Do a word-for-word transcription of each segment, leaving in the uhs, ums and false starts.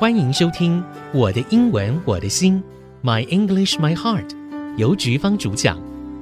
歡迎收聽我的英文我的心 My English My Heart 由菊芳主講。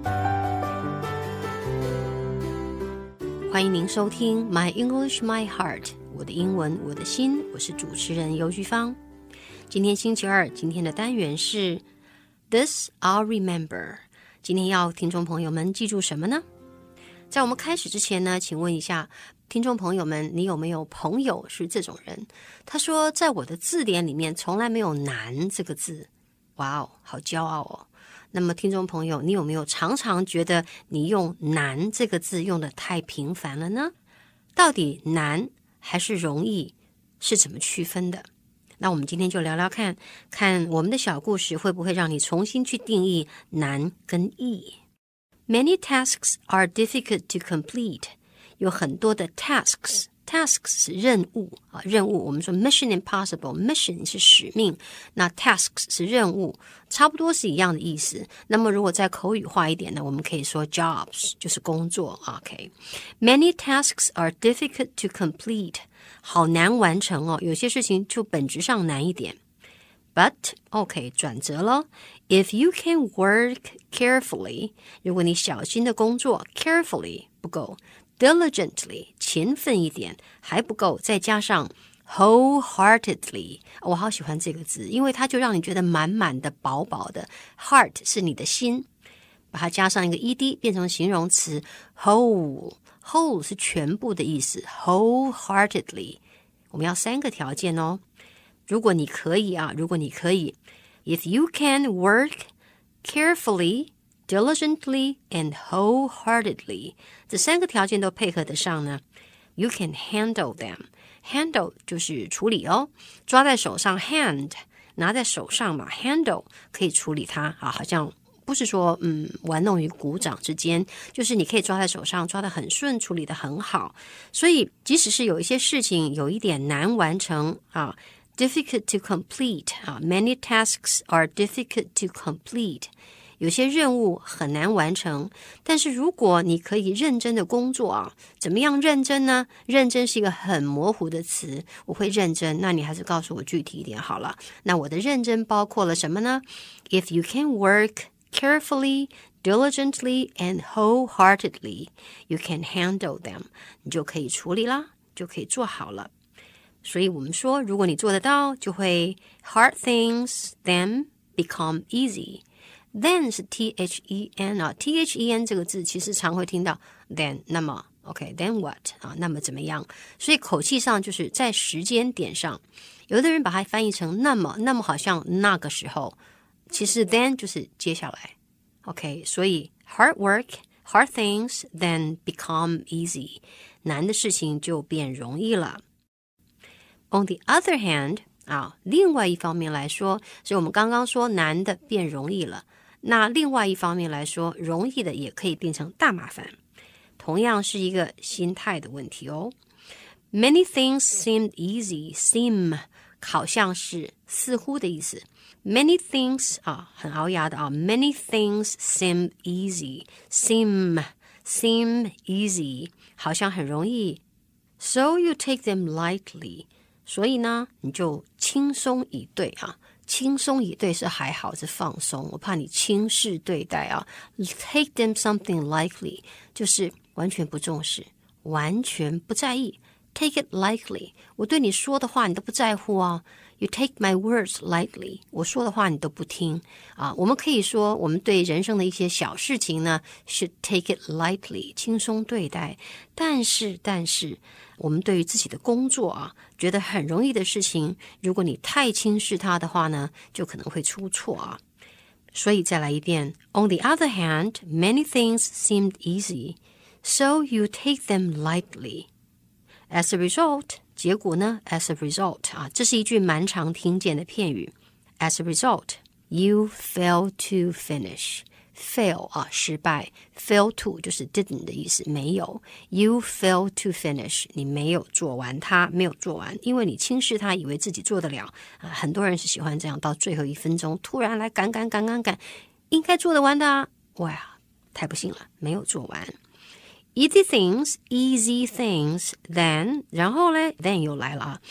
歡迎您收聽 My English My Heart 我的英文我的心，我是主持人游菊芳。今天星期二，今天的單元是 This I'll Remember。 今天要聽眾朋友們記住什麼呢？在我們開始之前呢，請問一下聽眾朋友們，你有沒有朋友是這種人？他說在我的字典裡面從來沒有難這個字。哇哦，好驕傲哦。那麼聽眾朋友，你有沒有常常覺得你用難這個字用得太頻繁了呢？到底難還是容易是怎麼區分的？那我們今天就聊聊看，看我們的小故事會不會讓你重新去定義難跟易。Many tasks are difficult to complete. 有很多的 tasks, tasks 是任務啊，任務我們說 mission impossible, mission 是使命，那 tasks 是任務，差不多是一樣的意思。那麼如果再口語化一點呢，我們可以說 jobs 就是工作。OK, many tasks are difficult to complete. 好難完成哦，有些事情就本質上難一點。But, OK, 轉折咯。If you can work carefully, 如果你小心的工作 carefully 不夠 diligently 勤奮一點還不夠，再加上 wholeheartedly， 我好喜歡這個字，因為它就讓你覺得滿滿的飽飽的。 Heart 是你的心，把它加上一個 ed 變成形容詞 whole whole 是全部的意思。 wholeheartedly 我們要三個條件哦。如果你可以啊，如果你可以 If you can work carefully, diligently, and wholeheartedly 這三個條件都配合得上呢， You can handle them. Handle 就是處理哦，抓在手上 hand 拿在手上嘛， handle 可以處理它啊，好像不是說嗯玩弄於股掌之間，就是你可以抓在手上，抓得很順，處理得很好。所以即使是有一些事情有一點難完成啊Difficult to complete 啊 Many tasks are difficult to complete 有些任務很難完成，但是如果你可以認真的工作啊，怎麼樣認真呢？認真是一個很模糊的詞，我會認真，那你還是告訴我具體一點好了。那我的認真包括了什麼呢？ If you can work carefully, diligently, and wholeheartedly, you can handle them 你就可以處理啦，就可以做好了。所以我們說，如果你做得到，就會 hard things then become easy. Then 是 T H E N 啊 ，T H E N 這個字其實常會聽到 then 那麼 OK then what 啊，那麼怎麼樣？所以口氣上就是在時間點上，有的人把它翻譯成那麼，那麼好像那個時候，其實 then 就是接下來 OK， 所以 hard work, hard things then become easy， 難的事情就變容易了。On the other hand 啊，另外一方面來說，所以我們剛剛說難的變容易了，那另外一方面來說，容易的也可以變成大麻煩，同樣是一個心態的問題哦。Many things seemed easy, seem 好像是似乎的意思。Many things 啊，很拗牙的啊 Many things seem easy, seem, seem easy 好像很容易。So you take them lightly所以呢，你就輕鬆以對啊，輕鬆以對是還好，是放鬆，我怕你輕視對待啊。Take them something lightly 就是完全不重視，完全不在意。Take it lightly 我對你說的話你都不在乎啊。You take my words lightly 我說的話你都不聽啊。我們可以說我們對人生的一些小事情呢 should take it lightly 輕鬆對待，但是但是我們對於自己的工作啊，覺得很容易的事情，如果你太輕視它的話呢，就可能會出錯啊。所以再來一遍 On the other hand, many things seemed easy, so you take them lightly. As a result, 結果呢 As a result 啊，這是一句蠻常聽見的片語。As a result, you fail to finish.Fail 啊，失敗 fail to 就是 didn't 的意思，沒有 You fail to finish 你沒有做完它，沒有做完，因為你輕視它，以為自己做得了啊。很多人是喜歡這樣，到最後一分鐘突然來趕趕趕趕趕，應該做得完的啊，哇，太不幸了，沒有做完。Easy things, easy things, then 然後呢 then 又來了啊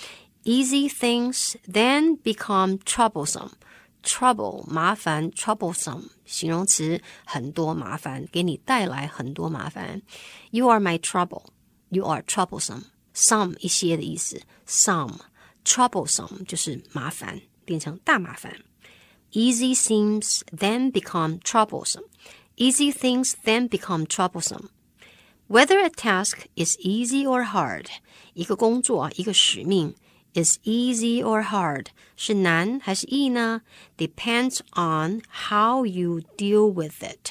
Easy things then become troublesome.Trouble 麻煩 troublesome 形容詞，很多麻煩，給你帶來很多麻煩。You are my trouble. You are troublesome. Some 一些的意思 Some troublesome 就是麻煩，變成大麻煩。Easy things then become troublesome. Easy things then become troublesome. Whether a task is easy or hard, 一個工作，一個使命Is easy or hard 是難還是易呢？ Depends on how you deal with it.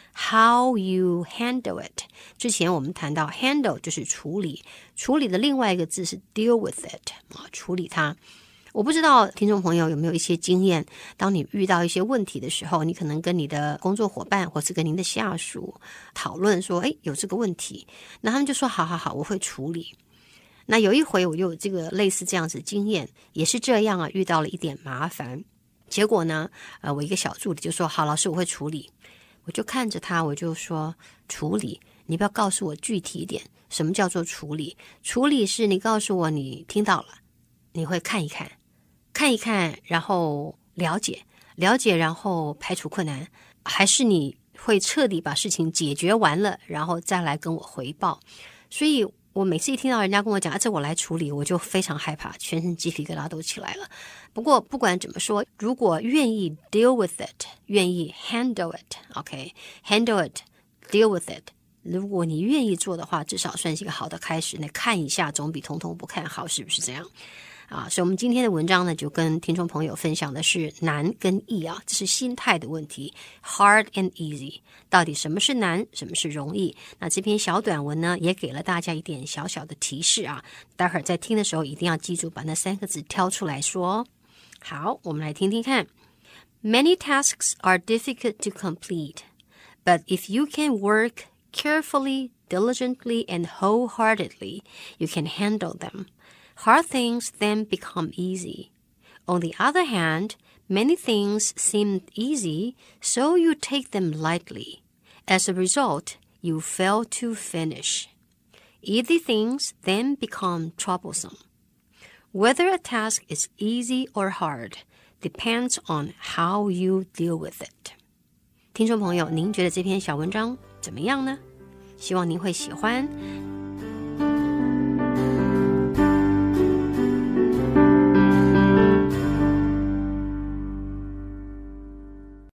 How you handle it. 之前我們談到 handle 就是處理，處理的另外一個字是 deal with it 啊，處理它。我不知道聽眾朋友有沒有一些經驗，當你遇到一些問題的時候，你可能跟你的工作夥伴或是跟您的下屬討論說，誒，有這個問題，那他們就說好好好，我會處理。那有一回我就有這個類似這樣子經驗，也是這樣啊，遇到了一點麻煩，結果呢，呃，我一個小助理就說好，老師我會處理。我就看着他，我就說處理，你不要告訴我具體一點，什麼叫做處理？處理是你告訴我你聽到了，你會看一看，看一看，然後了解，了解，然後排除困難，還是你會徹底把事情解決完了，然後再來跟我回報？所以我每次一聽到人家跟我講啊，這我來處理，我就非常害怕，全身雞皮疙瘩都起來了。不過不管怎麼說，如果願意 deal with it， 願意 handle it，OK，handle it，deal with it， 如果你願意做的話，至少算是一個好的開始。那看一下總比通通不看好，是不是這樣？啊，所以我們今天的文章呢，就跟聽眾朋友分享的是難跟易啊，這是心態的問題 ，hard and easy， 到底什麼是難，什麼是容易？那這篇小短文呢，也給了大家一點小小的提示啊，待會兒在聽的時候一定要記住把那三個字挑出來說。好，我們來聽聽看。Many tasks are difficult to complete, but if you can work carefully, diligently, and wholeheartedly, you can handle them.Hard things then become easy. On the other hand, many things seem easy, so you take them lightly. As a result, you fail to finish. Easy things then become troublesome. Whether a task is easy or hard depends on how you deal with it. 聽眾朋友，您覺得這篇小文章怎麼樣呢？希望您會喜歡。